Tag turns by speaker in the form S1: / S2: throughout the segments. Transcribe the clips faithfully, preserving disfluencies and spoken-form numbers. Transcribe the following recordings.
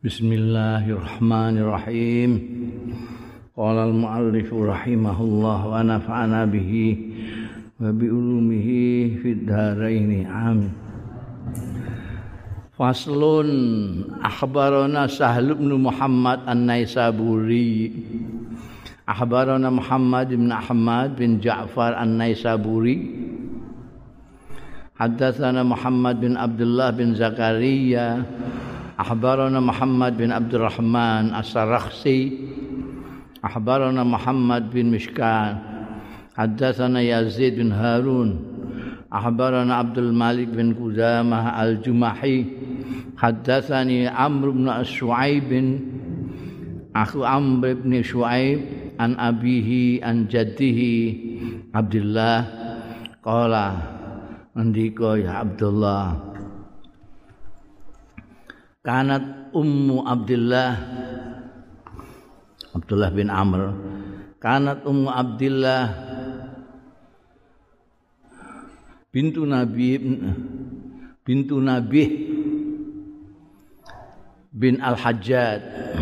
S1: Bismillahirrahmanirrahim. Qala al-muallif rahimahullah wa nafa'ana bihi wa bi ulumihi fid dharain. Amin. Faslun akhbarana Sahl bin Muhammad An-Naisaburi. Akhbarana Muhammad bin Ahmad bin Ja'far An-Naisaburi. Haddatsana Muhammad bin Abdullah bin Zakaria. Akhbarana Muhammad bin Abdurrahman As-Sarakhsi. Akhbarana Muhammad bin Mishkan. Haddatsana Yazid bin Harun. Akhbarana Abdul Malik bin Qudamah Al-Jumahi. Haddatsani Amr bin Shu'aib Akhu Amr bin Shu'aib an abihi an jaddihi Abdullah qala andika ya Abdullah kanat ummu Abdullah Abdullah bin Amr kanat ummu Abdullah bintu Nabi bintu Nabi bin Al-Hajjaj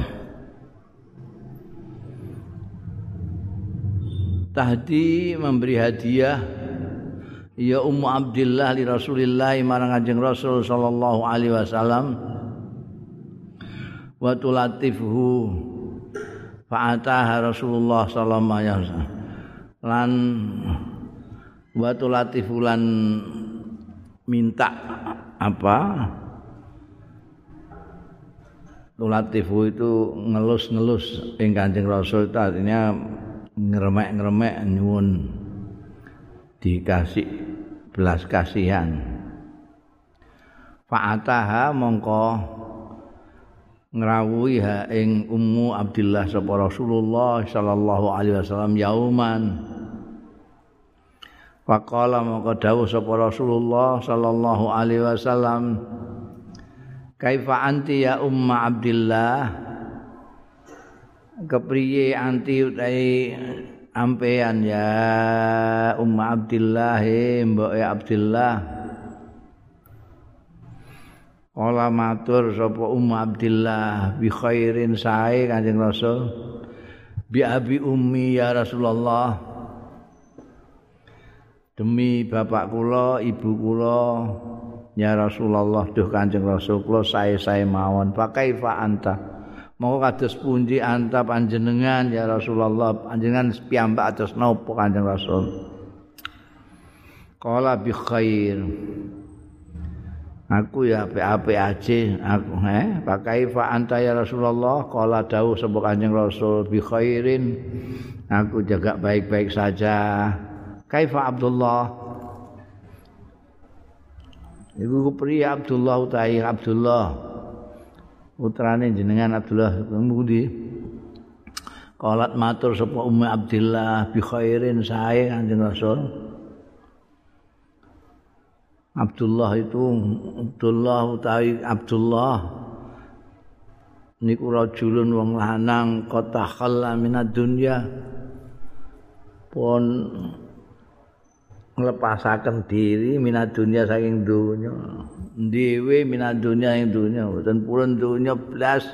S1: tahdi memberi hadiah ya ummu Abdullah li Rasulillah marang Kanjeng Rasul sallallahu alaihi wasallam wa tulatifuhu fa'ataha Rasulullah sallallahu alaihi wasallam lan wa tulatifu lan minta apa tulatifu itu ngelus-ngelus ing Kanjeng Rasul itu artinya ngeremek-ngeremek nyuwun dikasih belas kasihan fa'ataha mongko ngrawuhi ha ing ummu Abdullah sapa Rasulullah sallallahu alaihi wasallam yauman faqala mongko dawuh sapa Rasulullah sallallahu alaihi wasallam kaifa anti ya umma Abdullah kepriye anti utahe ampean ya umma Abdullah mboke Abdullah Kala matur sapa Ummu Abdillah bi khairin sae Kanjeng Rasul bi abi ummi ya Rasulullah demi bapak kula ibu kula ya Rasulullah duh Kanjeng Rasul kula sae-sae mawon pakaifa anta monggo kados pundi anta panjenengan ya Rasulullah panjenengan piyambak atus napa Kanjeng Rasul Kala bi khair aku ya apik-apik aja aku eh pakai fa anta ya Rasulullah qala dawuh sapa Kanjeng Rasul bi khairin aku jaga baik-baik saja kaifa Abdullah iku priya Abdullah utahe Abdullah putrane jenengan Abdullah pundi qalat matur sapa Ummu Abdillah bi khairin sae Kanjeng Rasul Abdullah itu Abdullah utawi Abdullah niku rajulun wong lanang kota khalla minad dunya pun nglepasaken diri minad dunya saking donya dhewe minad dunya ing donya mboten purun donya blas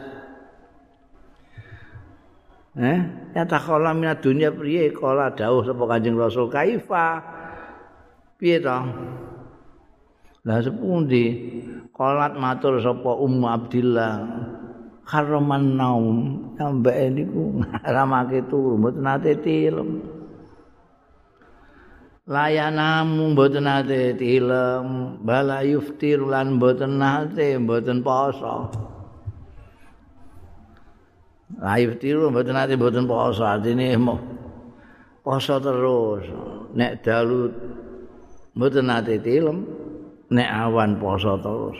S1: eh ya takhalla minad dunya priye kala dawuh sapa Kanjeng Rasul kaifa piye to lah sepundi qalat matur sapa Ummu Abdillah karaman naum ambek niku ngaramake turu mboten nate tilem layanamu mboten nate tilem bala yuftir lan mboten nate mboten poso la yuftir mboten nate mboten poso artine poso terus nek dalu mboten nate tilem nek awan poso terus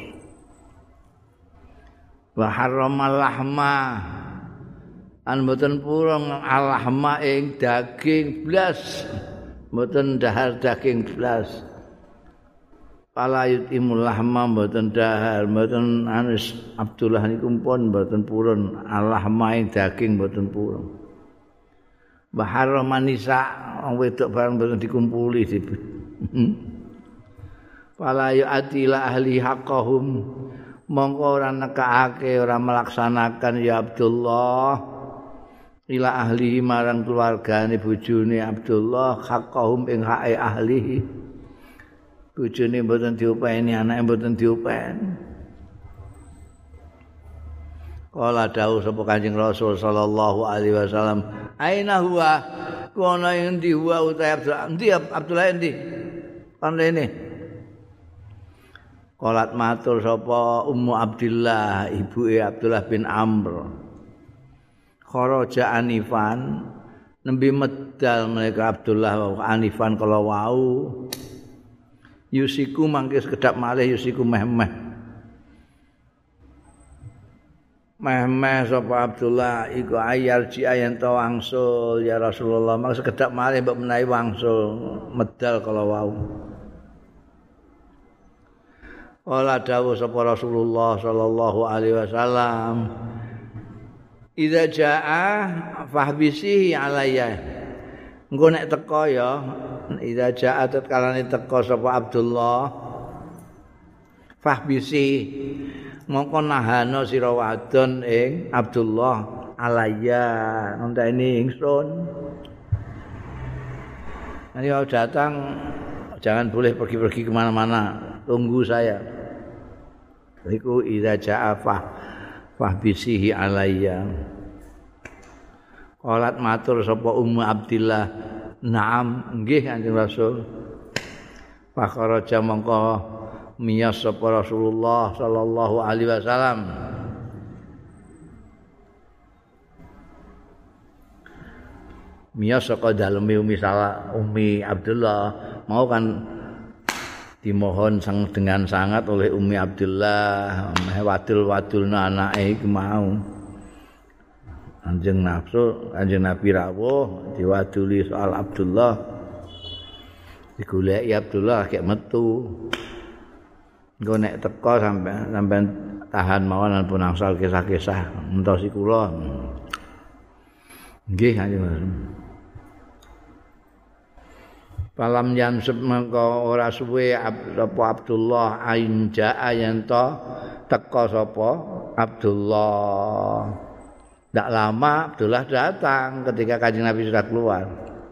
S1: wa harramal lahma an mboten purung alahma ing daging blas mboten dahar daging blas palayut imul lahma mboten dahar mboten anis Abdullah niku pun mboten purun alahma ing daging mboten purun wa harraman nisa wong wedok bareng mboten dikumpuli fala yu'ati ila ahli haqqahum mongko ora nekake ora melaksanakan ya Abdullah ila ahlihi marang keluargane bojone Abdullah haqqahum ing hake ahlihi bojone mboten diupeni anake mboten diupeni kala dawuh sapa Kanjeng Rasul sallallahu alaihi wasallam aina huwa kono endi huwa utahe Abdullah endi Abdullah endi kan rene Qalat matur sapa Ummu Abdillah ibuke Abdullah bin Amr. Kharaja anifan nembe medal mereka Abdullah anifan kala wau. Yusiku mangke sekedap malih yusiku meh-meh. Meh-meh sapa Abdullah iku ayar ji ayen to wangsul ya Rasulullah mangke sekedap malih mbok menawi wangsul medal kala wau. Wala dawuh sapa Rasulullah sallallahu alaihi wasallam idza jaa fahbisihi alayya engko nek teka ya idza jaa tetkalane teka sapa Abdullah fahbisi mongko nahana sira wadon ing Abdullah alayya ngenteni ingsun ayo datang jangan boleh pergi-pergi kemana-mana tunggu saya. Iku idza jaa fa fahbisihi alayya. Qalat matur sapa Ummu Abdillah, "Naam, nggih Kanjeng Rasul." Fakharaja mongko miyas sapa Rasulullah sallallahu alaihi wasallam. Miyas saka daleme Umi Salah, Umi Abdullah mau kan dimohon sang dengan sangat oleh Ummi Abdullah wadul-wadulna anake iku mau Kanjeng nafsu Kanjeng Nabi rawuh diwaduli soal Abdullah digoleki Abdullah kayak metu engko nek teka sampean sampean tahan mawon pun angsal kisah-kisah entosi kula nggih Kanjeng Falam yansub mengko ora suwe sapa Abdullah ain jaa yen to teka sapa Abdullah. Tidak lama Abdullah datang ketika Kanjeng Nabi sudah keluar.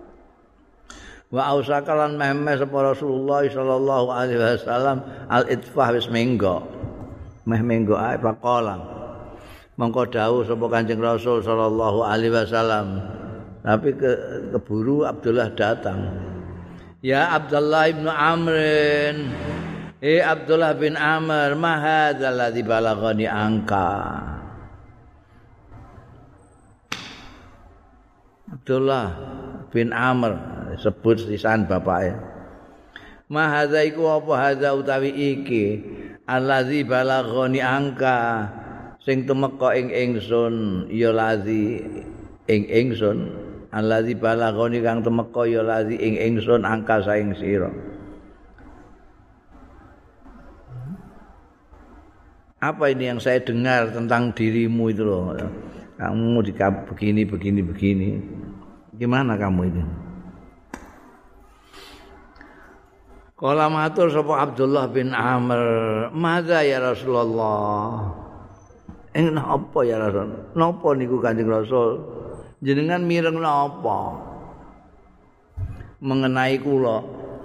S1: Wa ausakalan mehmeh sapa Rasulullah sallallahu alaihi wasallam al-itfah wis menggo. Meh menggo ae pakola. Mengko dawuh sapa Kanjeng Rasul sallallahu alaihi wasallam. Tapi ke, keburu Abdullah datang. Ya Abdullah ibn Amrin Eh Abdullah bin Amr ma hadzal ladzi balaghani angka Abdullah bin Amr sebut sisan bapake ma hadza iku apa hadza utawi iki alladzi balaghani angka sing tumeka ing ingsun ya ladzi ing ingsun allazi balaghani kang temeka ya lazi ing ingsun angka saing sira. Apa ini yang saya dengar tentang dirimu itu loh. Kamu di begini begini begini. Gimana kamu ini? Qala matur sapa Abdullah bin Amr, "Madza ya Rasulullah?" Ing napa ya Rasul? Napa niku Kanjeng Rasul? Jenengan mireng napa mengenai kula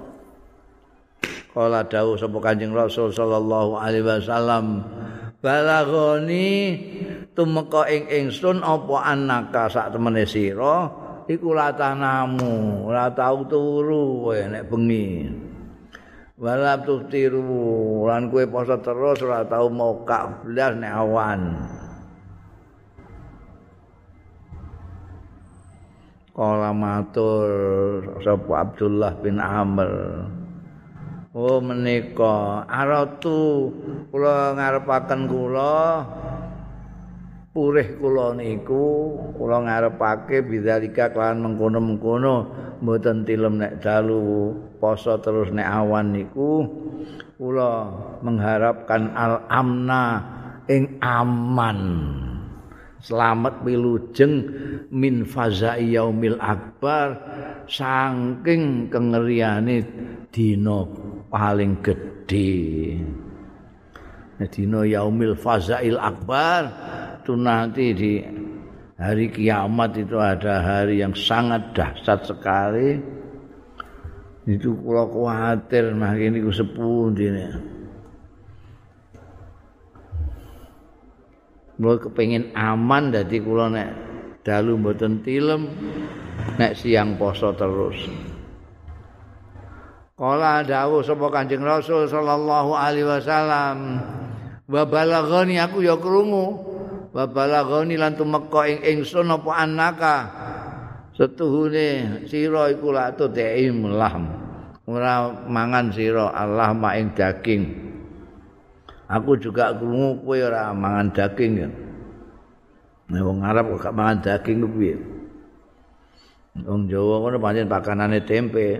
S1: kala dawuh sapa Kanjeng Rasul sallallahu alaihi wasallam balaghani tumeka ing ingsun apa annaka sak temene sira iku latanamu ora tau turu kowe nek bengi wala tuftiru lan kowe poso terus ora tau mokak blas nek awan. Kala matur sapa Abdullah bin Amr. Oh menika aratu kula ngarepaken kula purih kula niku kula ngarepake bidzalika kelawan mengkono-mengkono mboten tilem nek dalu poso terus nek awan niku kula mengharapkan al-amna ing aman. Selamat wilujeng min fazai yaumil akbar saking kengeriane dina paling gedhe. dina yaumil fazail akbar itu nanti di hari kiamat itu ada hari yang sangat dahsyat sekali. Itu kula kuwatir makin niku sepundi nek. Kula kepengin aman dadi kula nek dalu mboten tilem nek siang poso terus. Kala dawuh sapa Kanjeng Rasul sallallahu alaihi wasallam, wa balaghani aku ya krungu, wa balaghani lan tumeka ing ingsun apa annaka setuhune sira iku lak tutim lahm ora mangan sira Allah mak ing daging. Aku juga krungu kowe ora mangan daging ya. Nek wong Arab kok gak mangan daging ku piye? Wong Jawa ngono pancen pakanane tempe.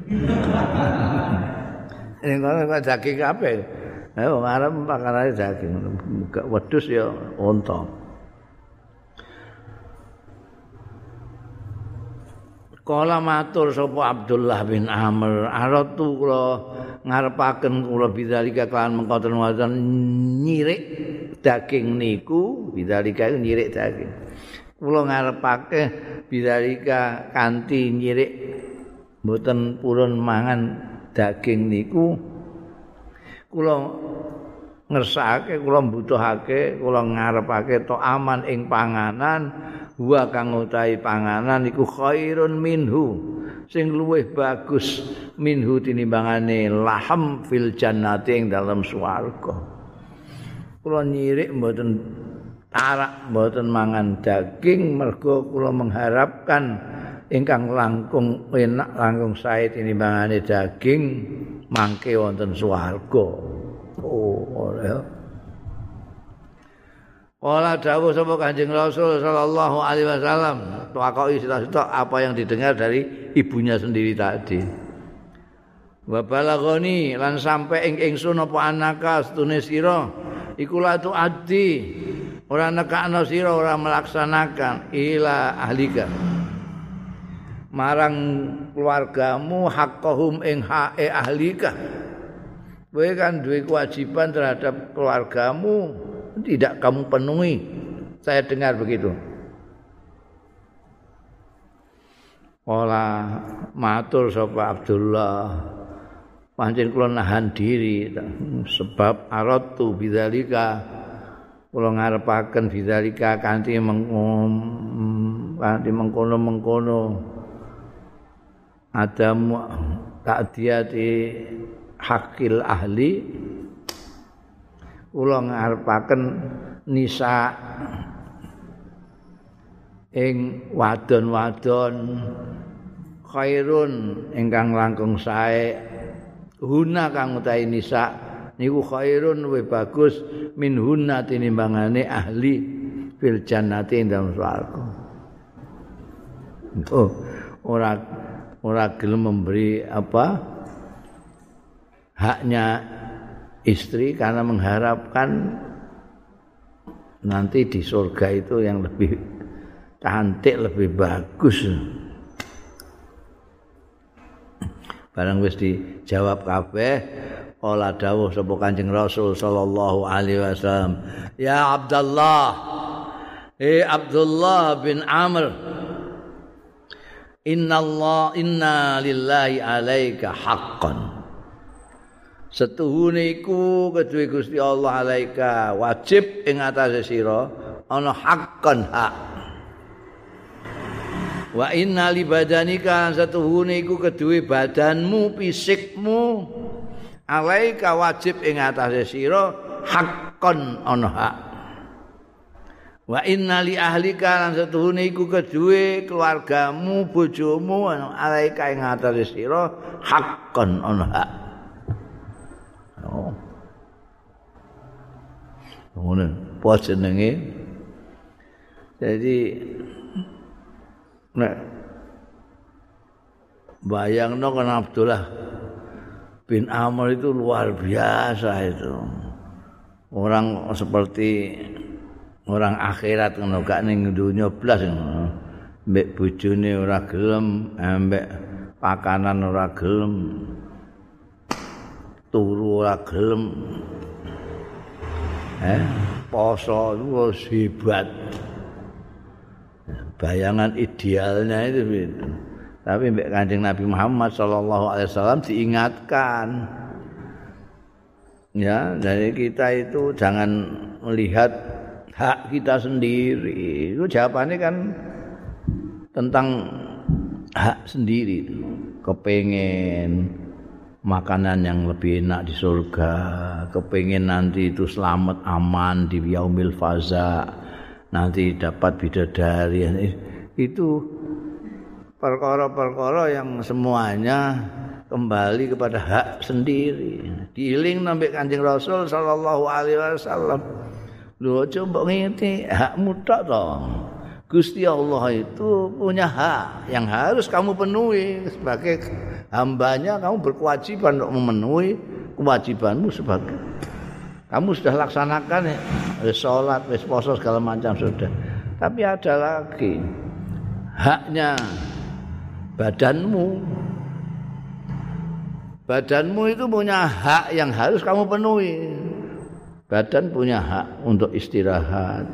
S1: Nek ngono kok daging kabeh. Nek wong Arab pakanane daging, gak wedhus ya unta. Kala matur sapa Abdullah bin Amr, aratu kula ngarepaken kula bidzalika kelawan mengkoten wonten nyirik daging niku, bidzalika nyirik daging. Kula ngarepake bidzalika kanthi nyirik mboten purun mangan daging niku. Kula ngersakake, kula mbutuhake, kula ngarepake to aman ing panganan. Wa kang utahi panganan iku khairun minhu sing luwih bagus minhu tinimbangane laham fil jannati ing dalam swarga. Kula nyirik mboten tarak mboten mangan daging mergo kula mengharapkan ingkang langkung enak langkung sae tinimbangane daging mangke wonten swarga. Oh, ora. Kala dawuh sapa Kanjeng Rasul sallallahu alaihi wasallam, takoki sita-sita apa yang didengar dari ibunya sendiri tadi. Wa balaghani lan sampe ing ingsun apa anaka setune sira iku la tu addi ora nekakno sira ora melaksanakan ila ahlika marang keluargamu haqqahum ing hae ahlika. Kowe kan duwe kewajiban terhadap keluargamu tidak kamu penuhi. Saya dengar begitu. Ola matur sapa Abdullah, pancen kula nahan diri sebab aratu bidzalika kula ngarepaken bidzalika kanthi mengkono kanthi mengkono-mengkono adamu ta'diyati hakil ahli. Kula ngarepaken nisa ing wadon-wadon khairun ingkang langkung sae huna kang utahe nisa niku khairun luwih bagus min hunna tinimbangane ahli fil jannati ing dalem swarga. Oh, ora ora gelem memberi apa haknya istri karena mengharapkan nanti di surga itu yang lebih cantik, lebih bagus. Barang wis dijawab kabeh, ola dawuh sapa Kanjeng Rasul sallallahu alaihi wasallam, ya Abdullah, eh Abdullah bin Amr, inna Allah inna lillahi alaika haqqan. Setuhune iku kedue Gusti Allah alaika wajib ing atase sira ana haqqan hak. Wa inna li badanika setuhune iku kedue badanmu fisikmu alaika wajib ing atase sira haqqan ana hak. Wa inna li ahlika lan setuhune iku kedue keluargamu bojomu alaika ing atase sira haqqan ana hak. Oh. Ngono, apa jenenge? Jadi nek bayangno kan Abdullah bin Amr itu luar biasa itu. Orang seperti orang akhirat ngono gak ning donya blas ngono. Mbek bojone ora gelem, ambek pakanan ora gelem. Turu ora gelem. Eh, poso itu hebat. Bayangan idealnya itu gitu. Tapi mbek Kanjeng Nabi Muhammad sallallahu alaihi wasallam diingatkan. Ya, dari kita itu jangan melihat hak kita sendiri. Itu jawabannya kan tentang hak sendiri. Kepengen makanan yang lebih enak di surga, kepengen nanti itu selamat aman di yaumil faza, nanti dapat bidadari. Itu perkara-perkara yang semuanya kembali kepada hak sendiri. Diiling nambah Kanjeng Rasul sallallahu alaihi wasallam. Lho coba ngerti hakmu tok to. Gusti Allah itu punya hak yang harus kamu penuhi sebagai hambanya. Kamu berkewajiban untuk memenuhi kewajibanmu sebagai kamu sudah laksanakan ya, wis salat, wis puasa segala macam sudah. Tapi ada lagi haknya badanmu. Badanmu itu punya hak yang harus kamu penuhi. Badan punya hak untuk istirahat,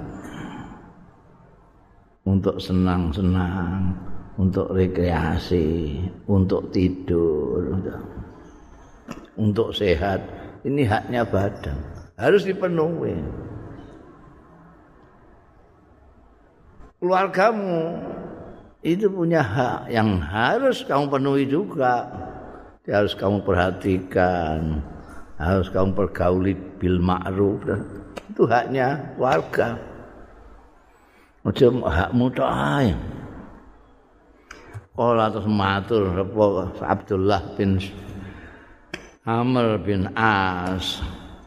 S1: untuk senang-senang, untuk rekreasi, untuk tidur, untuk, untuk sehat. Ini haknya badan, harus dipenuhi. Keluargamu itu punya hak yang harus kamu penuhi juga. Harus kamu perhatikan, harus kamu pergauli bil ma'ruf. Itu haknya warga. Macam hakmu tok ae. Kala terus matur Abdullah bin Amr bin As.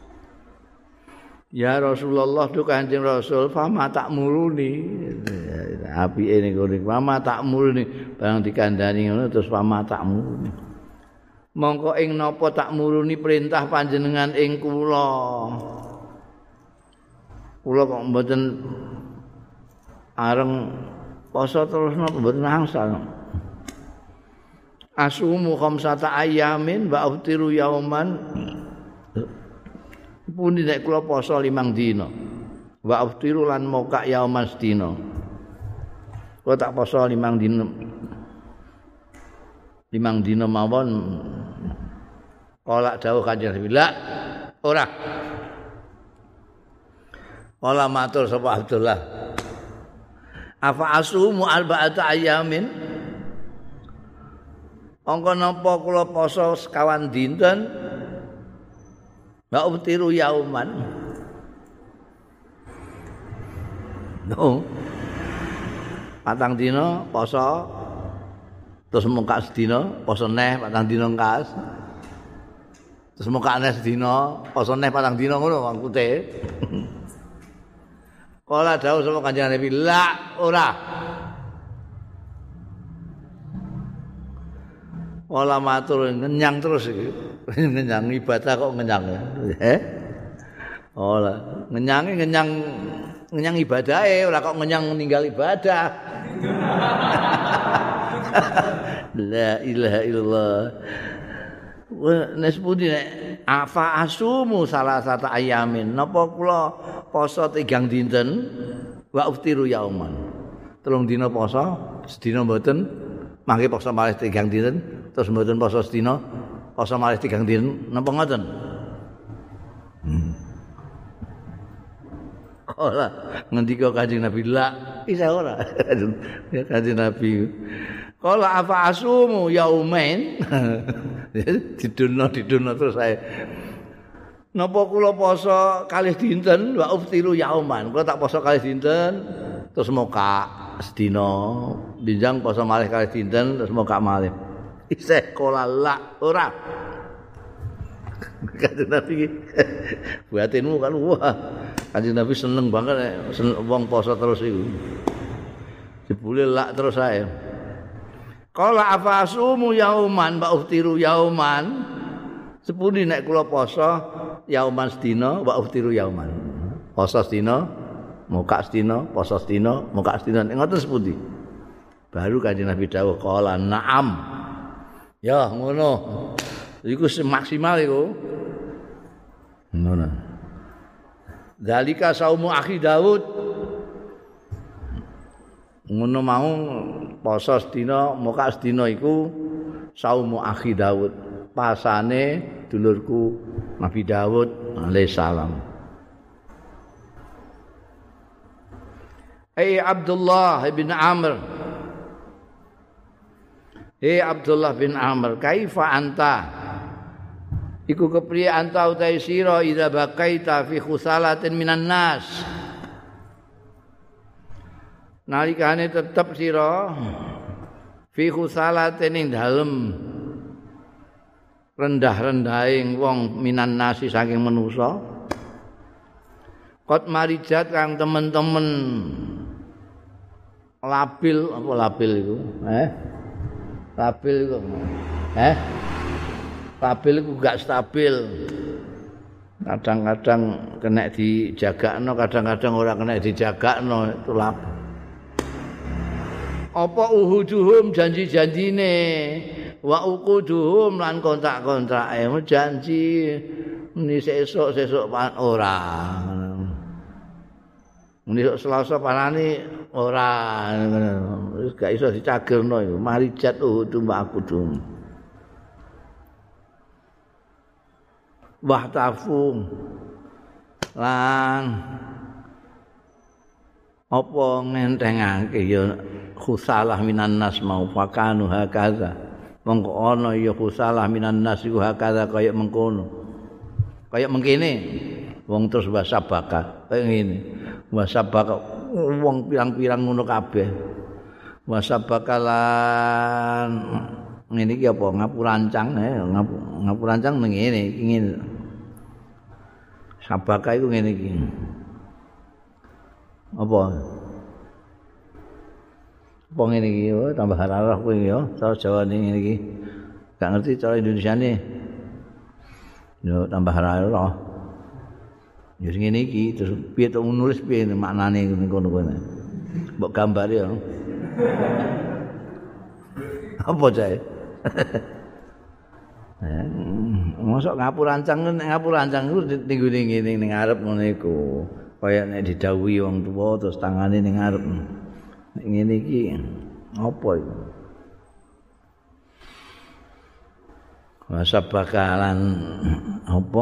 S1: Ya Rasulullah tu Kanjeng Rasul, fama tak muruni. Apike niku niku fama tak muruni, barang dikandani ngono terus fama tak muruni. Mongko ing napa tak muruni perintah panjenengan ing kula. Kula kok mboten areng poso terus napa mboten angsal. Asumu khamsata ayamin wa aftiru yauman. Pundi nek kula poso limang dina. Wa aftiru lan moka yauman sedina. Kula tak poso limang dina. Limang dina mawon kala dawuh Kanjeng Nabi la ora. Kala matur sapa Abdullah. Afa asumu arba'ata ayamin? Angka napa kula poso sekawan dinten? Wa ubtiru yauman. No. Patang dina poso terus muka sedina poso neh patang dina kas. Terus muka neh sedina poso neh patang dina ngono maksudé. Kala dawuh sapa Kanjeng Nabi, la ora. Kala matur ngenyang terus iki. Ngenyang ibadah kok ngenyang. Eh? Ora, ngenyange ngenyang ngenyang ibadahe ora kok ngenyang ninggal ibadah. La ilaha illallah. Wes pundi nek afa asumu salah satu ayamin. Napa kula poso tigang dinten wa uftiru yauman. Telung dina poso, sedina mboten, mangke poso malih tigang dinten, terus mboten poso sedina, poso malih tigang dinten. Napa ngoten? Hmm. Ora ngendika Kanjeng Nabi la isa ora. Ya Kanjeng Nabi. Kala afa asumu yaumain. Didono didono terus saya. Napa kula poso kalih dinten wa uftiru yauman. Kula tak poso kalih dinten terus moka sedina, binjang poso malih kalih dinten terus moka malih. Isih kala la ora. Kanjeng Nabi buatinmu kan wah. Kanjeng Nabi seneng banget seneng wong poso terus iku. Jebule lak terus ae. Kala afasumu yauman wa uftiru yauman. Sepundi nek kula poso yauman sedina wa uftiru yauman. Poso sedina, muka sedina, poso sedina, muka sedina. Ngoten sepundi? Baru Kanjeng Nabi dawuh kala na'am. Ya ngono. Iku maksimal iku. Ngono. Dzalika saumu akhi Daud. Ngono mau poso sedina muka sedina iku saumu akhi Daud. Pasane dulurku Nabi Daud alaihissalam. Hey Abdullah bin Amr. Hey Abdullah bin Amr, kaifa anta? Iku kepriye anta utai sira idza bakaita fi khusalatin minan nas. Nalikane tetep sira fi khusalatin ing dalem rendah-rendahing wong minan nasi saking manusa. Qad marijat kang temen-temen labil apa labil iku? Eh? Labil iku. Eh? Labil iku gak stabil. Kadang-kadang kena dijagakno, kadang-kadang ora kena dijagakno, itu labil. Apa uhuduhum janji-janjine wa uquduhum lan kontrak-kontrake janji muni sesuk-sesuk pan ora. Muni Selasa panane ora wis gak iso dicagerno iku marijat uhudum wa uqudum. Wahtafu lan apa ngentengake ya khusalah minan nas mau fakanu hakaza mongko ana ya khusalah minan nas iku hakaza kaya mengkono kaya mengkene wong terus wasabaka kaya ngene wasabaka wong pirang-pirang ngono kabeh wasabakalan ngene iki apa ngapurancang eh ngapurancang ning ngene iki ngene sabaka iku ngene iki apa apa ngene iki oh, tambah hararah kowe ya cara Jawane ngene iki gak ngerti cara Indonesiane yo tambah hararah yo ngene iki terus piye to nulis piye maknane ngono kono mbok gambar ya apa jae eh mosok ngapurancang ngapurancang iku ning ngene ning ngarep ngono iku kaya nek didhawuhi wong tuwa terus tangane ning ngarep ngene iki apa iku masa bakalan apa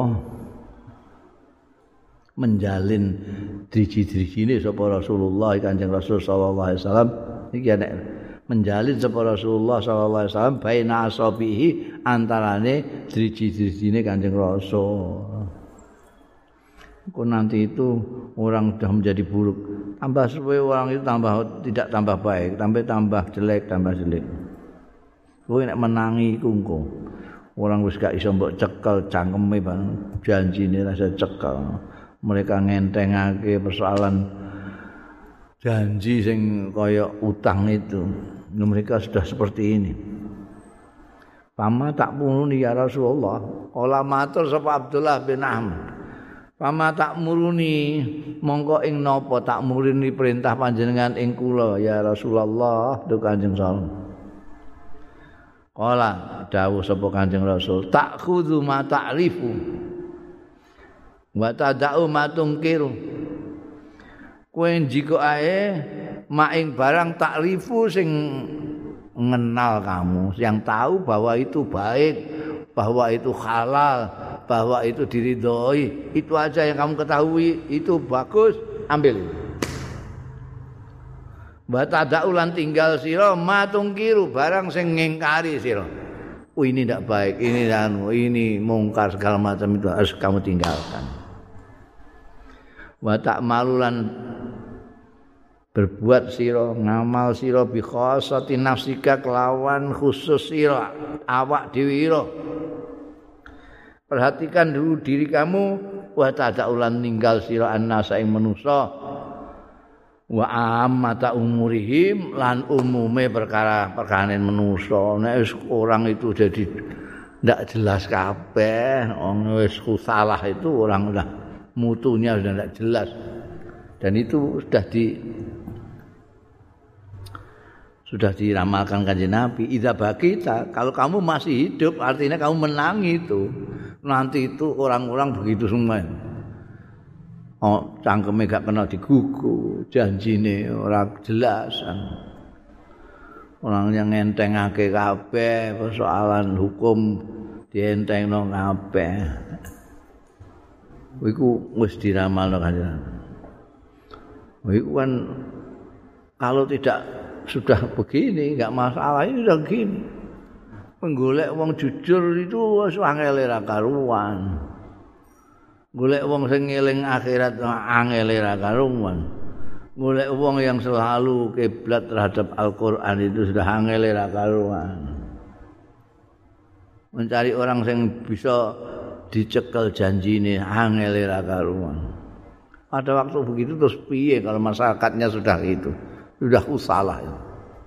S1: menjalin driji-drijine sapa Rasulullah Kanjeng Rasul sallallahu alaihi wasallam iki nek menjalin sapa Rasulullah sallallahu alaihi wasallam baina asabihi antarane driji-drijine Kanjeng Rasul. Kok nanti itu orang sudah menjadi buruk. Tambah suwe orang itu tambah tidak tambah baik, tambah tambah jelek, tambah jelek. Kowe nek menangi iku engko. Orang wis gak iso mbok cekel cangkeme bang janjine rasa cekel. Mereka ngentengake persoalan janji sing kaya utang itu. Mereka sudah seperti ini. Pama tak muruni ya Rasulullah. Kala matur sapa Abdullah bin Amr. Pama tak muruni mongko ing napa tak muruni perintah panjenengan ing kula ya Rasulullah tu Kanjeng Rasul. Kala dawuh sapa Kanjeng Rasul, tak khudzu ma ta'rifu wa tada'u ma tungkiru. Kowe njiko ae mak ing barang ta'rifu sing mengenal kamu, yang tahu bahwa itu baik, bahwa itu halal, bahwa itu diridhoi, itu aja yang kamu ketahui, itu bagus, ambil. Wa tadaulan tinggal sira matungkiru barang sing ngingkari sira. Oh ini tidak baik, ini anu, ini mungkar segala macam itu harus kamu tinggalkan. Wa ta'malulan berbuat sira ngamal sira bi khassati nafsika kelawan khusus sira awak dhewe ira. Perhatikan dulu diri kamu wa tadaulan ninggal sira annasa ing manusa wa ammata umurihim lan umume perkara-perkara manusa. Nek orang itu jadi ndak jelas kabeh, wong wis salah itu orang udah mutunya sudah ndak jelas. Dan itu sudah di sudah diramalkan Kanjeng Nabi, idza bakita, kalau kamu masih hidup artinya kamu menang itu. Nanti itu orang-orang begitu semua. oh, cangkeme gak kena digugu, janjine ora jelas. Orang yang ngentengake kabeh persoalan hukum dientengno kabeh. Iku wis diramalno kan. Iku kan kalau tidak sudah begini enggak masalah, ini sudah begini. Menggolek wong jujur itu wis angel ra karuan. Golek wong sing ngeling akhirat angel ra karuan. Golek wong yang selalu kiblat terhadap Al-Qur'an itu sudah angel ra karuan. Mencari orang yang bisa dicekel janjine angel ra karuan. Pada waktu begitu terus piye kalau masyarakatnya sudah itu, sudah usalah itu.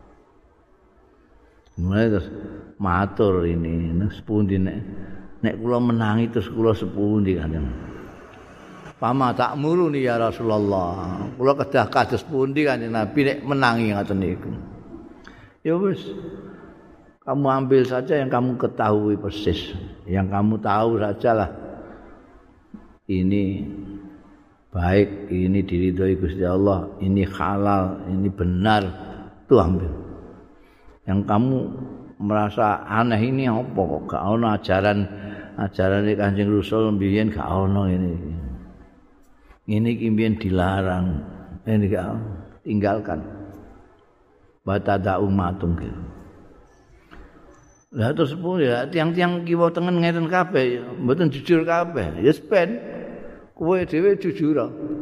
S1: Mulai terus matur ini, nek sepundi nek nek kula menangi terus kula sepundi Kanjeng. Pama tak muruni ya Rasulullah. Kula kedah kados pundi Kanjeng Nabi nek menangi ngoten niku. Ya wis. Kamu ambil saja yang kamu ketahui persis. Yang kamu tahu sajalah. Ini baik, ini diridhoi Gusti Allah, ini halal, ini benar. Itu ambil. Yang kamu merasa aneh ini apa kok gak ono ajaran ajaran Kanjeng Rasul mbiyen gak ono ini. Ini kimbian dilarang, ini gak tinggalkan. Batada umatung gitu. Lah terus pun ya tiang-tiang kiwa tengen ngeten kabeh, mboten jujur kabeh. Ya ben kowe dhewe jujur.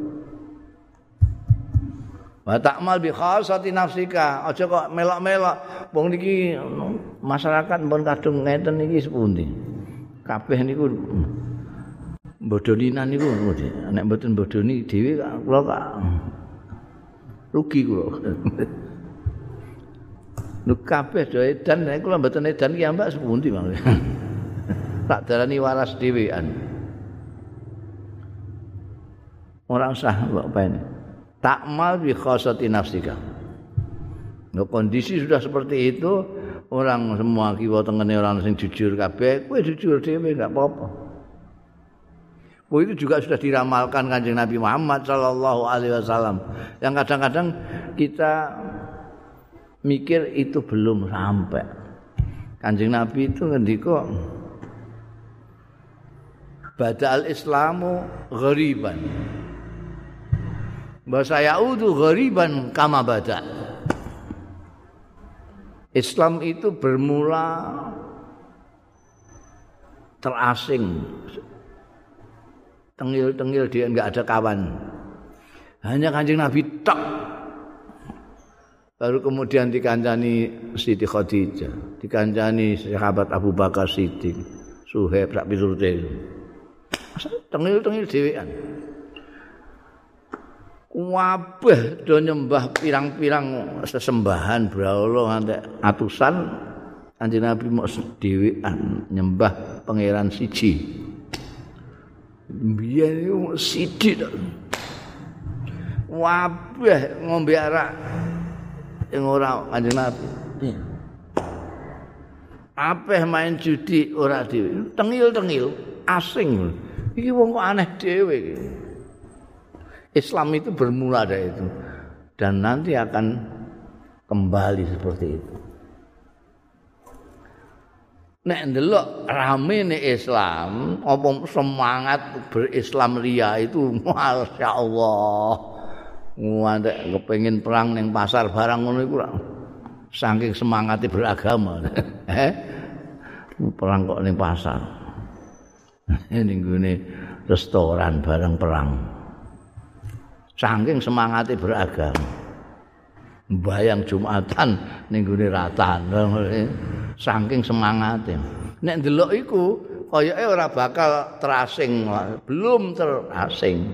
S1: Wa ta'mal bi khasati nafsika, aja kok melok-melok. Wong niki masyarakat mbon kadung ngeten iki sepundi. Kabeh niku bodoninan niku nek mboten bodoni dhewe kula kok rugi kula. Lho kabeh do edan nek kula mboten edan ki ambak sepundi Bang. Tak darani waras dhewean. Ora usah mbok paene. Takmal bi khasati nafsika. Lho kondisi sudah seperti itu, orang semua kiwa tengene orang sing jujur kabeh, kowe jujur dhewe enggak apa-apa. Oh itu juga sudah diramalkan Kanjeng Nabi Muhammad sallallahu alaihi wasallam. Yang kadang-kadang kita mikir itu belum sampai. Kanjeng Nabi itu ngendika badal Islamu ghariban. Bahasa yaudu ghariban kama bada. Islam itu bermula terasing. Tengil-tengil dia enggak ada kawan. Hanya Kanjeng Nabi tok. Baru kemudian dikancani Siti Khadijah, dikancani sahabat Abu Bakar Siddiq, Suhaib sak piturute. Tengil-tengil dhewean. Kabeh do nyembah pirang-pirang sesembahan brahala nganti atusan, Kanjeng Nabi mok dhewean nyembah pangeran siji. Biyen iku sithik tok. Kabeh ngombe arak yang ora Kanjeng Nabi. Apeh main judi ora dhewe. Tengil-tengil asing. Iki wong kok aneh dhewe iki. Islam itu bermula dari itu dan nanti akan kembali seperti itu. Nek ndelok ramene Islam, apa semangat berislam ria itu masyaallah. Ngantek kepengin perang ning pasar barang ngono iku saking semangate beragama. Eh? Perang kok ning pasar. Ning gone restoran barang perang. Saking semangate beragama. Bayang Jumatan ning gone ratan. Saking semangate. Nek ndelok iku kayake ora bakal terasing, belum terasing.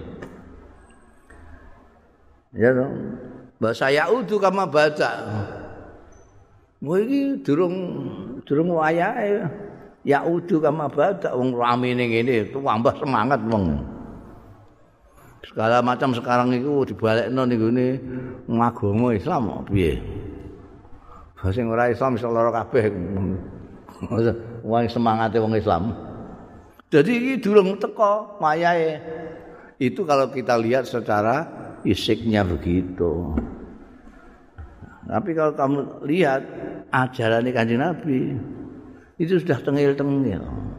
S1: Ya dong. Bahasa Yaudu kama baca. Kowe iki durung durung wayahe. Yaudu kama baca wong ramene ngene, tambah semangat wong. Segala macam sekarang itu dibalekno ning gone agama Islam piye. Sing ora Islam iso lara kabeh. Wong semangate wong Islam. Jadi iki durung teko wayahe Itu kalau kita lihat secara fisiknya begitu. Tapi kalau kamu lihat ajaran Kanjeng Nabi itu sudah tengil-tengil.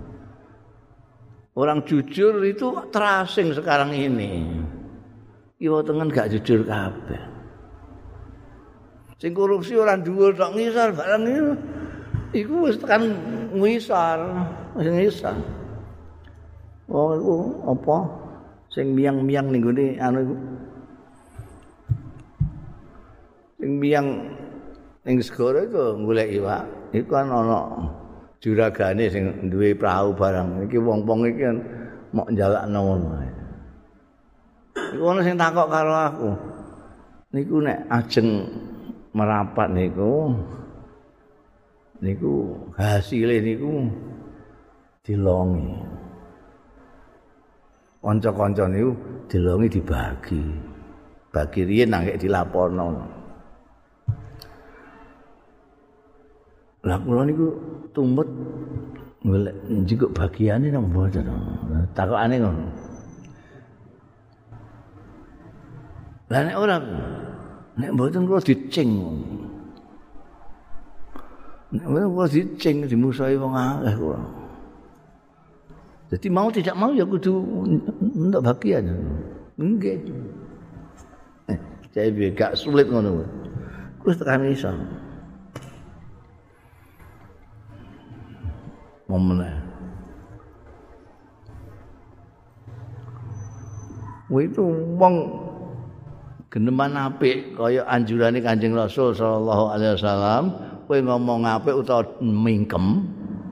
S1: Orang jujur itu terasing sekarang ini. Kiwa tengen gak jujur kabeh. Sing korupsi orang dhuwur tok ngisor barang iku. Iku wis tekan ngisor, wis ngisor. Oh iku apa? Sing miang-miang ning gone anu iku. Sing miang ning segara iku golek iwak. Iku kan ana juragane sing duwe prau barang. Iki wong-wong iki kan mok njalakno ngono. Iku ana sing takok karo aku. Niku nek ajeng merapat niku niku hasile niku dilongi. Kanca-kanca niku dilongi dibagi. Bagi riyen nang dilaporno. Lah kula niku tumbet golek njikuk bagiane nang mboten. Takokane ngono. Lah nek ora nek mboten kula dicing. Nek mboten kula dicing dimusahi wong akeh kula. Jadi mau tidak mau ya kudu untuk bagian. Nggih. Eh, saya gak sulit ngono. Wis tekan iso. Momen. Kuwi itu wong geneman apik kaya anjurane Kanjeng Rasul sallallahu alaihi wasallam, kowe ngomong apik utawa mingkem.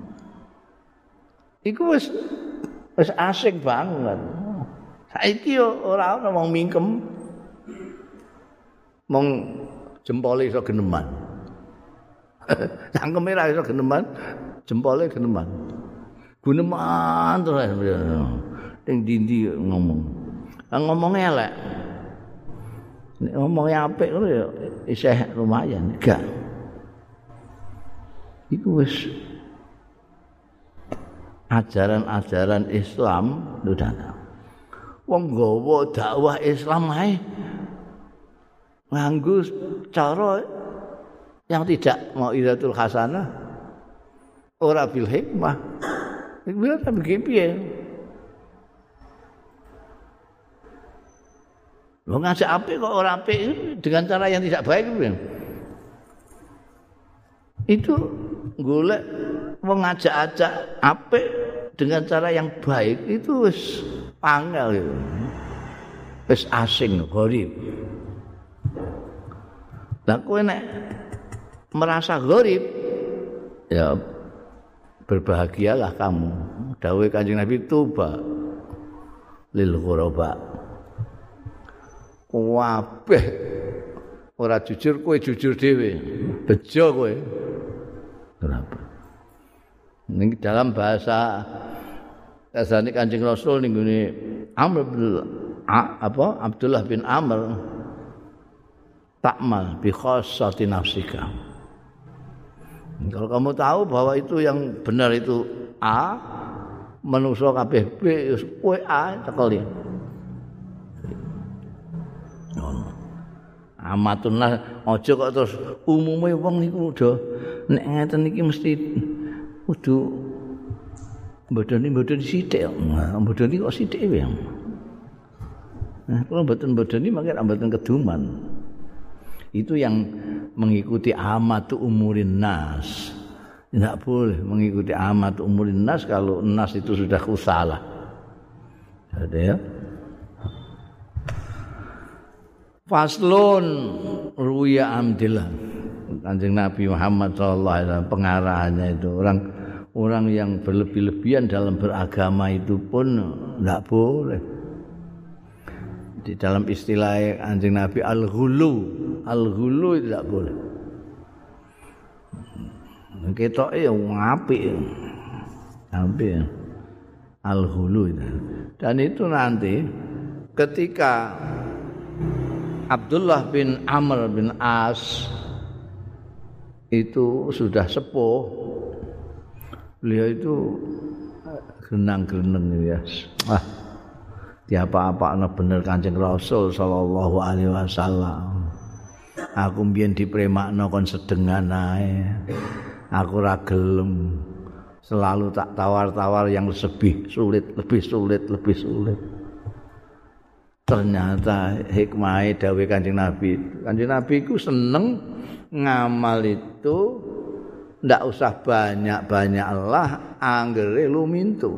S1: Iku wis wis asik banget. Saiki ora ana wong mingkem. Mong jempole iso geneman. Cangkeme ra iso geneman. Jempolnya geneman. Guneman terus ning ndi-ndi ngomong. Lah ngomong elek. Nek ngomongnya apik ngono ya isih lumayan, gak. Iku wis ajaran-ajaran Islam udah. Wong nggawa dakwah Islam ae nganggo cara yang tidak mau iratul hasanah. Ora bil hikmah. Hikmah ta piye? Lo ngajak apik kok ora apik dengan cara yang tidak baik piye? Itu golek wong ngajak-ajak apik dengan cara yang baik itu wis angel gitu. Wis asing, gharib. Lah kowe nek merasa gharib ya berbahagialah kamu. Dawuh Kanjeng Nabi tuba lil ghuraba. Kabeh ora jujur kowe jujur dhewe. Bejo kowe. Kenapa? Ning dalam bahasa kasane Kanjeng Rasul ning ngene Amr bin apa Abdullah bin Amr ta'mal bi khassati nafsika. Kalau kamu tahu bahwa itu yang benar itu A, manusa kabeh B, kowe A cekel ya. Amatun lah aja kok terus umume wong niku udah nek ngeten iki mesti kudu bodoni-bodoni sithik. Bodoni kok sithik wae. Nah, kalau mboten-bodoni mangke mboten keduman. Itu yang mengikuti amatu umurin nas. Tidak boleh mengikuti amatu umurin nas kalau nas itu sudah kusalah. Ada ya. Faslun ruya amdillah. Kanjeng Nabi Muhammad sallallahu alaihi wasallam pengarahannya itu orang orang yang berlebih-lebihan dalam beragama itu pun tidak boleh. Di dalam istilah Kanjeng Nabi al-ghulu, al-ghulu itu tidak boleh. Ketoke ya apik. Apik. Al-ghulu itu. Dan itu nanti ketika Abdullah bin Amr bin As itu sudah sepuh, beliau itu genang-geneng ya. Ah, diapa-apakno bener Kanjeng Rasul sallallahu alaihi wasallam. Aku mbiyen dipremakno kon sedengan ae. Aku ora gelem. Selalu tak tawar-tawar yang lebih sulit, lebih sulit, lebih sulit. Ternyata hikmah dawuh Kanjeng Nabi. Kanjeng Nabi ku seneng ngamal itu ndak usah banyak-banyak lah anggere lumintu.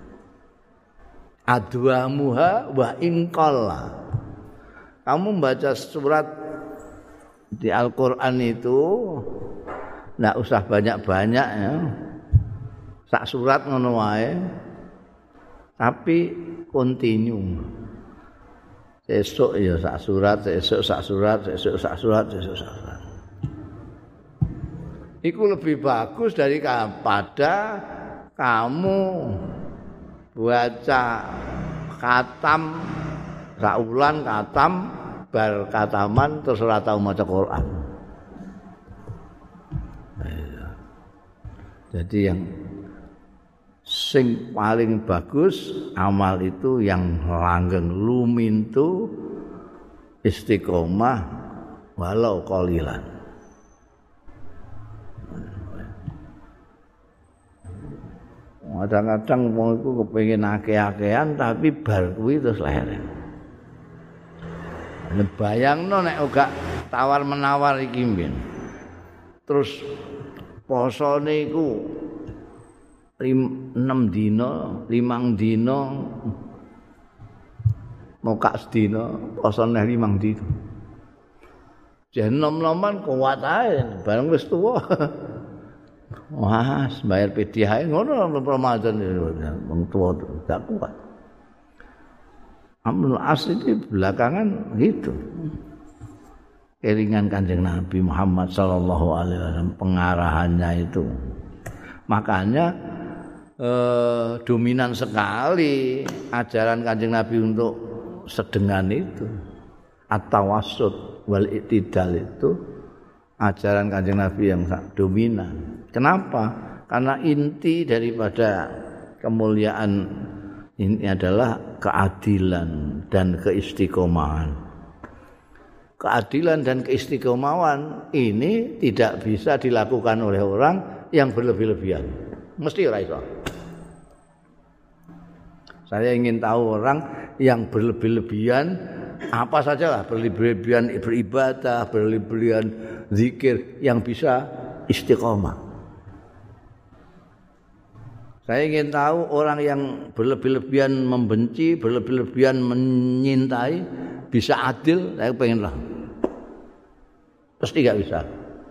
S1: Adwamuha wa inqalla. Kamu membaca surat di Al-Qur'an itu ndak usah banyak-banyak ya. Sak surat ngono wae. Tapi continue. Esok ya sak surat, esok sak surat, esok sak surat, esok sak surat. Iku lebih bagus daripada kamu baca khatam saulan khatam bar khataman terus ora tau maca Quran. Jadi yang sing paling bagus amal itu yang langgeng lumintu istiqomah walau qalilan. Kadang-kadang wong iku kepengin akeh-akehan tapi bar kuwi terus leren. Bayangno nek uga tawar-menawar iki mben. Terus posone iku enam dina, limang dina mokak sedina, posone limang dina. Jen nom-noman kuat ae bareng wis tuwa. Wah, bayar P D H ngono Ramadan wong tuwa gak kuat. Amrul As itu belakangan gitu. Keringan Kanjeng Nabi Muhammad sallallahu alaihi wasallam pengarahannya itu. Makanya eh, dominan sekali ajaran Kanjeng Nabi untuk sedengan itu. At-tawassut wal i'tidal itu ajaran Kanjeng Nabi yang dominan. Kenapa? Karena inti daripada kemuliaan ini adalah keadilan dan keistiqomahan. Keadilan dan keistiqomahan ini tidak bisa dilakukan oleh orang yang berlebih-lebihan. Mesti ora iso. Saya ingin tahu orang yang berlebih-lebihan apa sajalah, berlebih-lebihan beribadah, berlebih-lebihan zikir yang bisa istiqomah. Saya ingin tahu orang yang berlebih-lebihan membenci, berlebih-lebihan menyintai, bisa adil, saya pengen lah. Pasti gak bisa.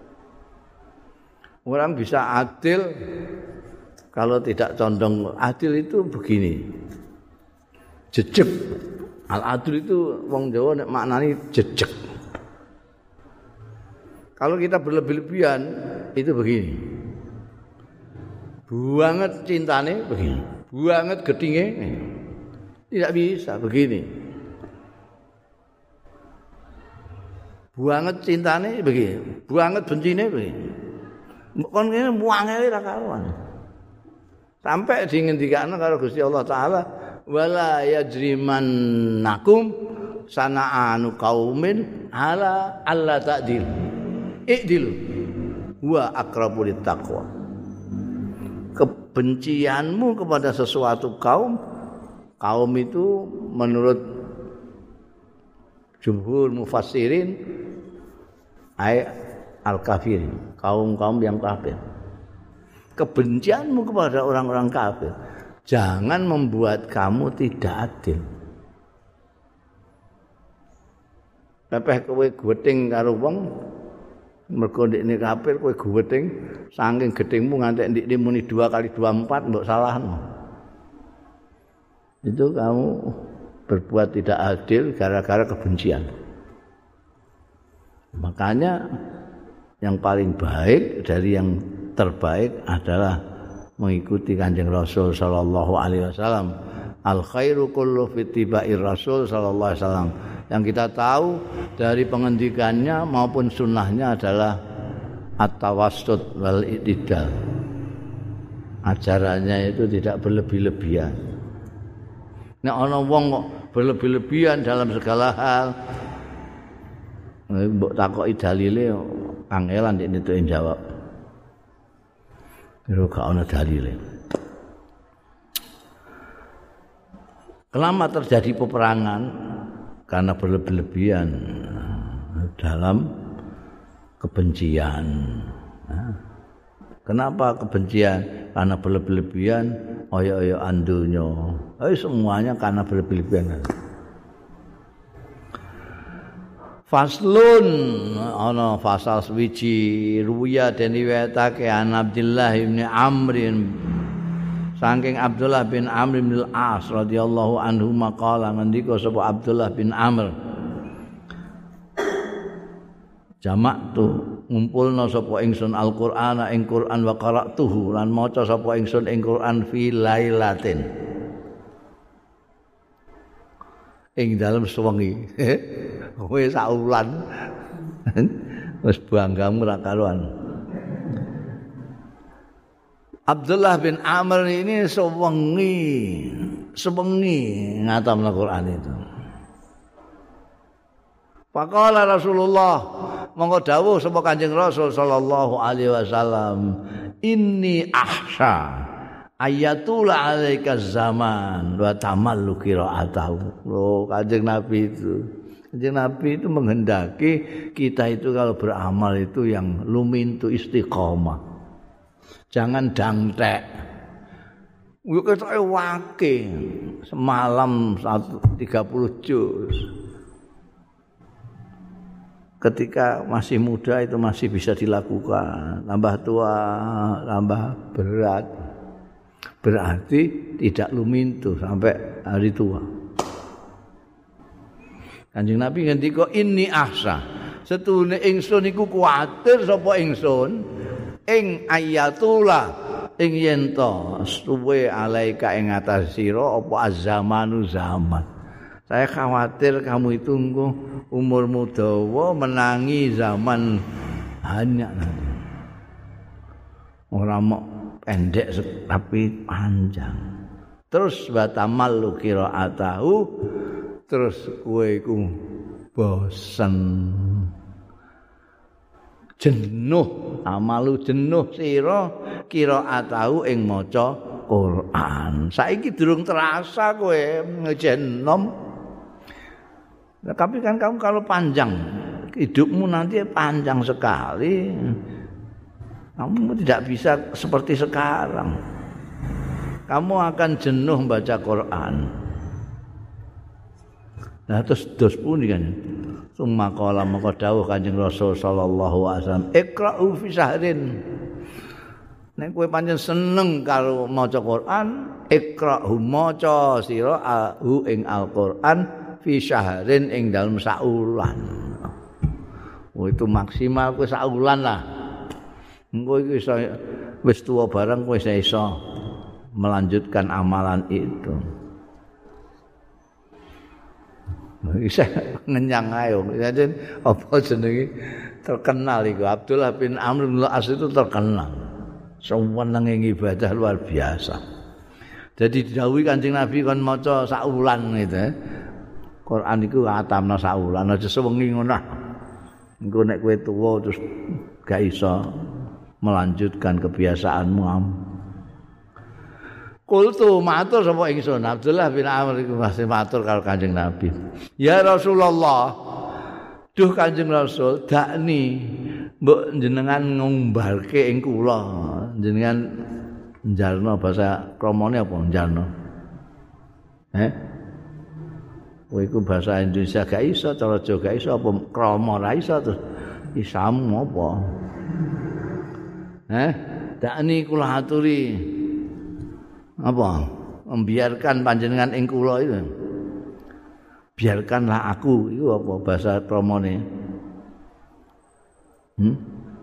S1: Orang bisa adil kalau tidak condong adil itu begini. Jejeg. Al-adil itu wong Jawa nek maknane jejeg. Kalau kita berlebih-lebihan itu begini. Buanget cintane begini, buanget gedinge tidak bisa begini. Buanget cintane begini, buanget bencine begini. Kon ngene muangele ra karuan. Sampai dingendikane karo Gusti Allah taala, wala yajrimannakum sana'anu qaumin ala alla ta'dil. I'dil wa aqrabu littaqwa. Kebencianmu kepada sesuatu kaum, kaum itu menurut jumhur mufassirin ay al-kafirin, kaum-kaum yang kafir. Kebencianmu kepada orang-orang kafir jangan membuat kamu tidak adil. Pepeh kowe gething karo wong mergo ndekne kafir kowe gething saking gethingmu nganti ndekne muni dua kali dua empat mbok salahno. Itu kamu berbuat tidak adil gara-gara kebencian. Makanya yang paling baik dari yang terbaik adalah mengikuti Kanjeng Rasul sallallahu alaihi wasallam. Al khairu kullu fi tibair Rasul sallallahu alaihi wasallam. Yang kita tahu dari pengendikannya maupun sunnahnya adalah at-tawassut wal i'tidal. Ajarannya itu tidak berlebih-lebihan. Nek ana wong kok berlebih-lebihan dalam segala hal. Mbok takoki dalile kangelan nek itu jawab. Kira gak ana dalile. Kenapa terjadi peperangan? Karena berlebih-lebihan dalam kebencian. Kenapa kebencian? Karena berlebih-lebihan, oyo-oyoan dunya. Eh semuanya karena berlebih-lebihan. Faslun ana fasal swiji ruya den riwayatake an Abdullah bin Amr saking Abdullah bin Amr bin Al-As radhiyallahu anhu maqala ngendika sapa Abdullah bin Amr jamak tu ngumpulna sapa ingsun Al-Qur'ana ing Qur'an wa qara'tuhu lan maca sapa ingsun ing Qur'an fi lailatin ing dalem sewengi kowe saulan wis banggamu ra karuan. Abdullah bin Amr ini sewengi sewengi ngatamna Quran itu. Faqala Rasulullah monggo dawuh sapa Kanjeng Rasul sallallahu alaihi wasallam inni ahsha ayatul alaika zaman wa tamallu qiraatahu. Loh Kanjeng Nabi itu. Kanjeng Nabi itu menghendaki kita itu kalau beramal itu yang lumintu istiqomah. Jangan dangtek. Yo ketoke wake semalam tiga puluh juz. Ketika masih muda itu masih bisa dilakukan, tambah tua tambah berat. Berarti tidak lumintu sampai hari tua. Kanjeng Nabi ngendika inni ahsa. Setune ingsun iku kuwatir sapa ingsun ing ayatullah ing yen to suwe alaika ing atas sira apa azamanu zaman. Saya khawatir kamu itu umurmu dawa menangi zaman hanya nanti. Ora mok pendek tapi panjang. Terus batamal qiraatahu terus kowe iku bosen jenuh amalu jenuh sira qiraatahu ing maca Quran. Saiki durung terasa kowe ngejenom. Tapi kan kamu kalau panjang hidupmu nanti panjang sekali. Kamu tidak bisa seperti sekarang. Kamu akan jenuh membaca Quran. Nah terus dos pundi kan. Summa qala maka dawuh Kanjeng Rasul sallallahu alaihi wasallam, "Iqra'u fi syahrin." Nek kowe pancen seneng karo maca Quran, iqra'hu maca sira hu ing Al-Qur'an fi syahrin ing dalem saulan. Oh itu maksimal kowe saulan lah. Engko iki iso wis tuwa barang kowe iso melanjutkan amalan itu. Bisa ngenyang ayo. Jadi apa jenenge terkenal iku Abdullah bin Amr bin Al-As itu terkenal. Senenge ibadah luar biasa. Jadi didhawuhi Kanjeng Nabi kon maca saulan gitu. Quran iku atamna saulan aja sewengi ngono. Engko nek kowe tuwa terus gak iso melanjutkan kebiasaanmu. Kultu matur sapa ingsun Abdullah bin Amr iku masih matur karo Kanjeng Nabi. Ya Rasulullah, duh Kanjeng Rasul, dakni mbok jenengan ngumbarke ing kula. Jenengan njarno bahasa kramane apa njarno? Eh? Kowe iku bahasa Indonesia gak iso, cara Jawa gak iso apa krama ra iso terus isamu apa? Eh? Dakni kula aturi apa membiarkan panjenengan ing kula itu biarkanlah aku itu apa bahasa kromone hmm?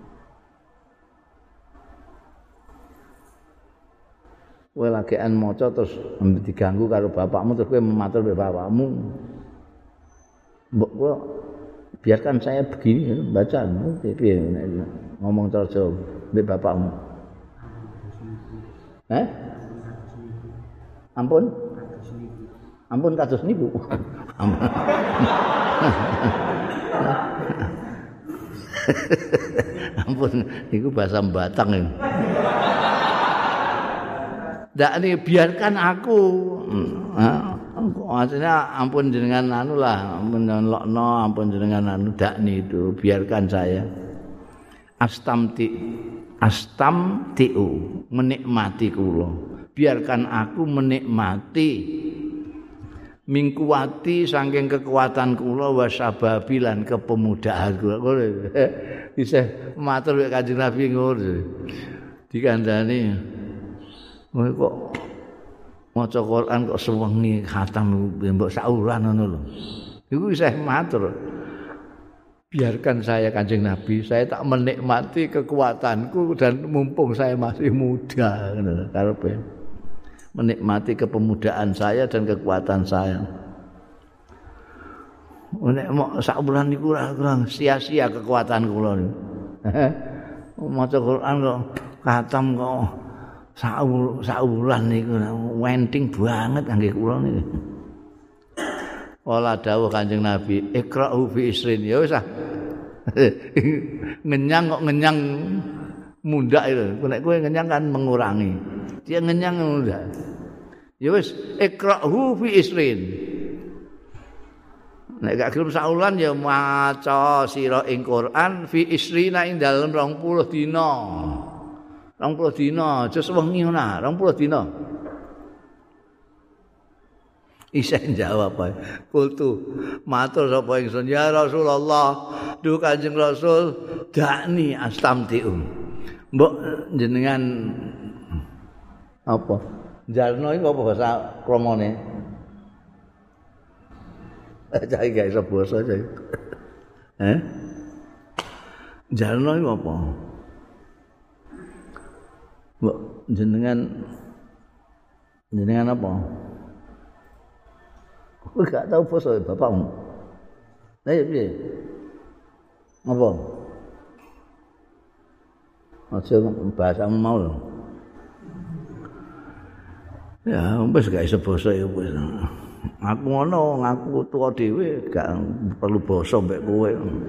S1: Kowe lagian maca terus diganggu karo bapakmu terus kowe matur mbek bapakmu mbok kula biarkan saya begini baca piye ngomong cara Jawa mbek bapakmu eh Ampun? Ampun kados niku. Ampun niku bahasa Batang ini. Ndak nih biarkan aku. Maksudnya ampun jenengan anu lah, ampun lokno, ampun jenengan anu dak nih itu, biarkan saya. Astamti astamtiu menikmati kula. Biarkan aku menikmati mingkuati saking kekuatan kula wasababi lan kepemudaan kula. Bisa matur Kanjeng Nabi ngono. Dikandani kok maca Quran kok sewengi khatam mbok saulan ngono lho. Iku isih matur. Biarkan saya Kanjeng Nabi, saya tak menikmati kekuatanku dan mumpung saya masih muda ngono karepe. Menikmati kepemudaan saya dan kekuatan saya. Nek mok sak bulan niku kurang sia-sia kekuatan kula niku. Maca Quran kok khatam kok sak wulan niku wenting banget kangge kula niku. Wala dawuh Kanjeng Nabi, ikra'u fi isrin. Ya wis ah. Ngenyang kok ngenyang mundak itu. Nek kowe ngenyang kan mengurangi. Dia ngenyang mundak. Ya wis ikra'u fi isrin. Nek gak gelem saulan ya maca sira ing Quran fi isrina ing dalem rong puluh dina. rong puluh dina, aja sewengi ngono, rong puluh dina. Isa jawab ae. Kultu matur sapa ingsun ya Rasulullah, duh Kanjeng Rasul, dakni astamtiu. Mbok jenengan apa? Jarno iku apa bahasa kramane? Cah iki iso basa cah. Eh? Jarno iku apa? Mbok jenengan jenengan apa? Kowe gak tau basa bapakmu. Lah ya piye? Apa? Aja bahasamu mau lho. Ya, wis gak iso basa ya wis. Aku ngono, ngaku tuwa dhewe gak perlu basa mbek kowe.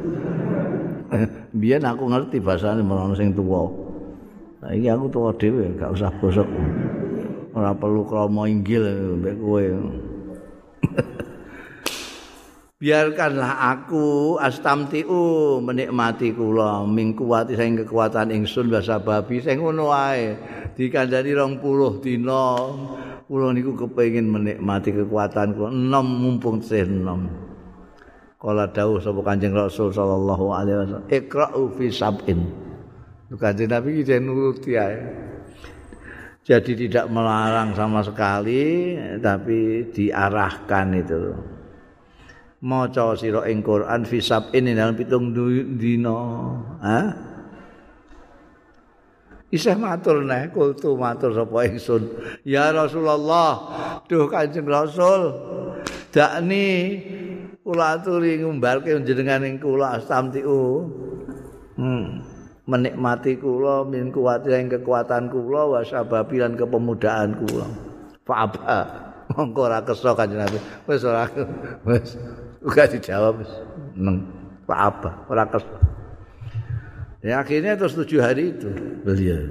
S1: Biyen aku ngerti bahasane menawa sing tuwa. Saiki aku tuwa dhewe gak usah basa. Ora perlu krama inggil mbek kowe. Biarkanlah aku astamtiu menikmati kula mingkuwati saking kekuatan ingsun wasababi sing ngono wae dikandani rong puluh dina kula niku kepengin menikmati kekuatan kula enom mumpung tesih enom. Kala dawuh sapa Kanjeng Rasul sallallahu alaihi wasallam ikra'u fi sab'in. Kanjeng Nabi iki nuruti ae. Jadi tidak melarang sama sekali tapi diarahkan itu. Maca sira ing Quran fi sab'in dalam pitung dina. Ha? Isih matur neh kultu matur sapa ingsun. Ya Rasulullah, duh Kanjeng Rasul, dakni kula aturi ngumbarke njenengan ing kula astamtiu. Hmm. Menikmati kula min kuwati ing kekuatan kula wasababi lan kepemudaan kula. Fa'aba. Mongko ora kersa Kanjeng Nabi. Wis ora wis uga dijawab wis neng Fa'aba, ora kersa. Ya akhirnya terus tujuh hari itu beliau.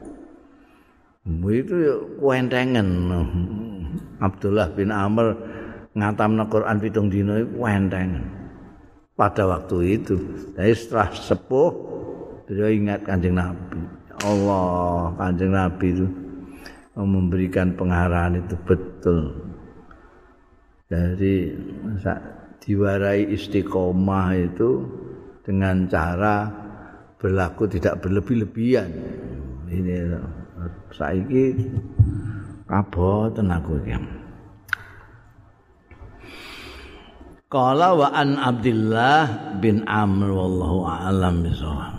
S1: Itu kuentengan Abdullah bin Amr ngatamna Quran pitung dina iku kuentengan. Pada waktu itu, dari setelah sepuh beliau ingat Kanjeng Nabi. Allah, Kanjeng Nabi itu memberikan pengarahan itu betul. Dari diwarai istiqomah itu dengan cara berlaku tidak berlebih-lebihan. Ini saiki kaboten aku iki. Qala wa an Abdullah bin Amr wallahu a'lam bishawab.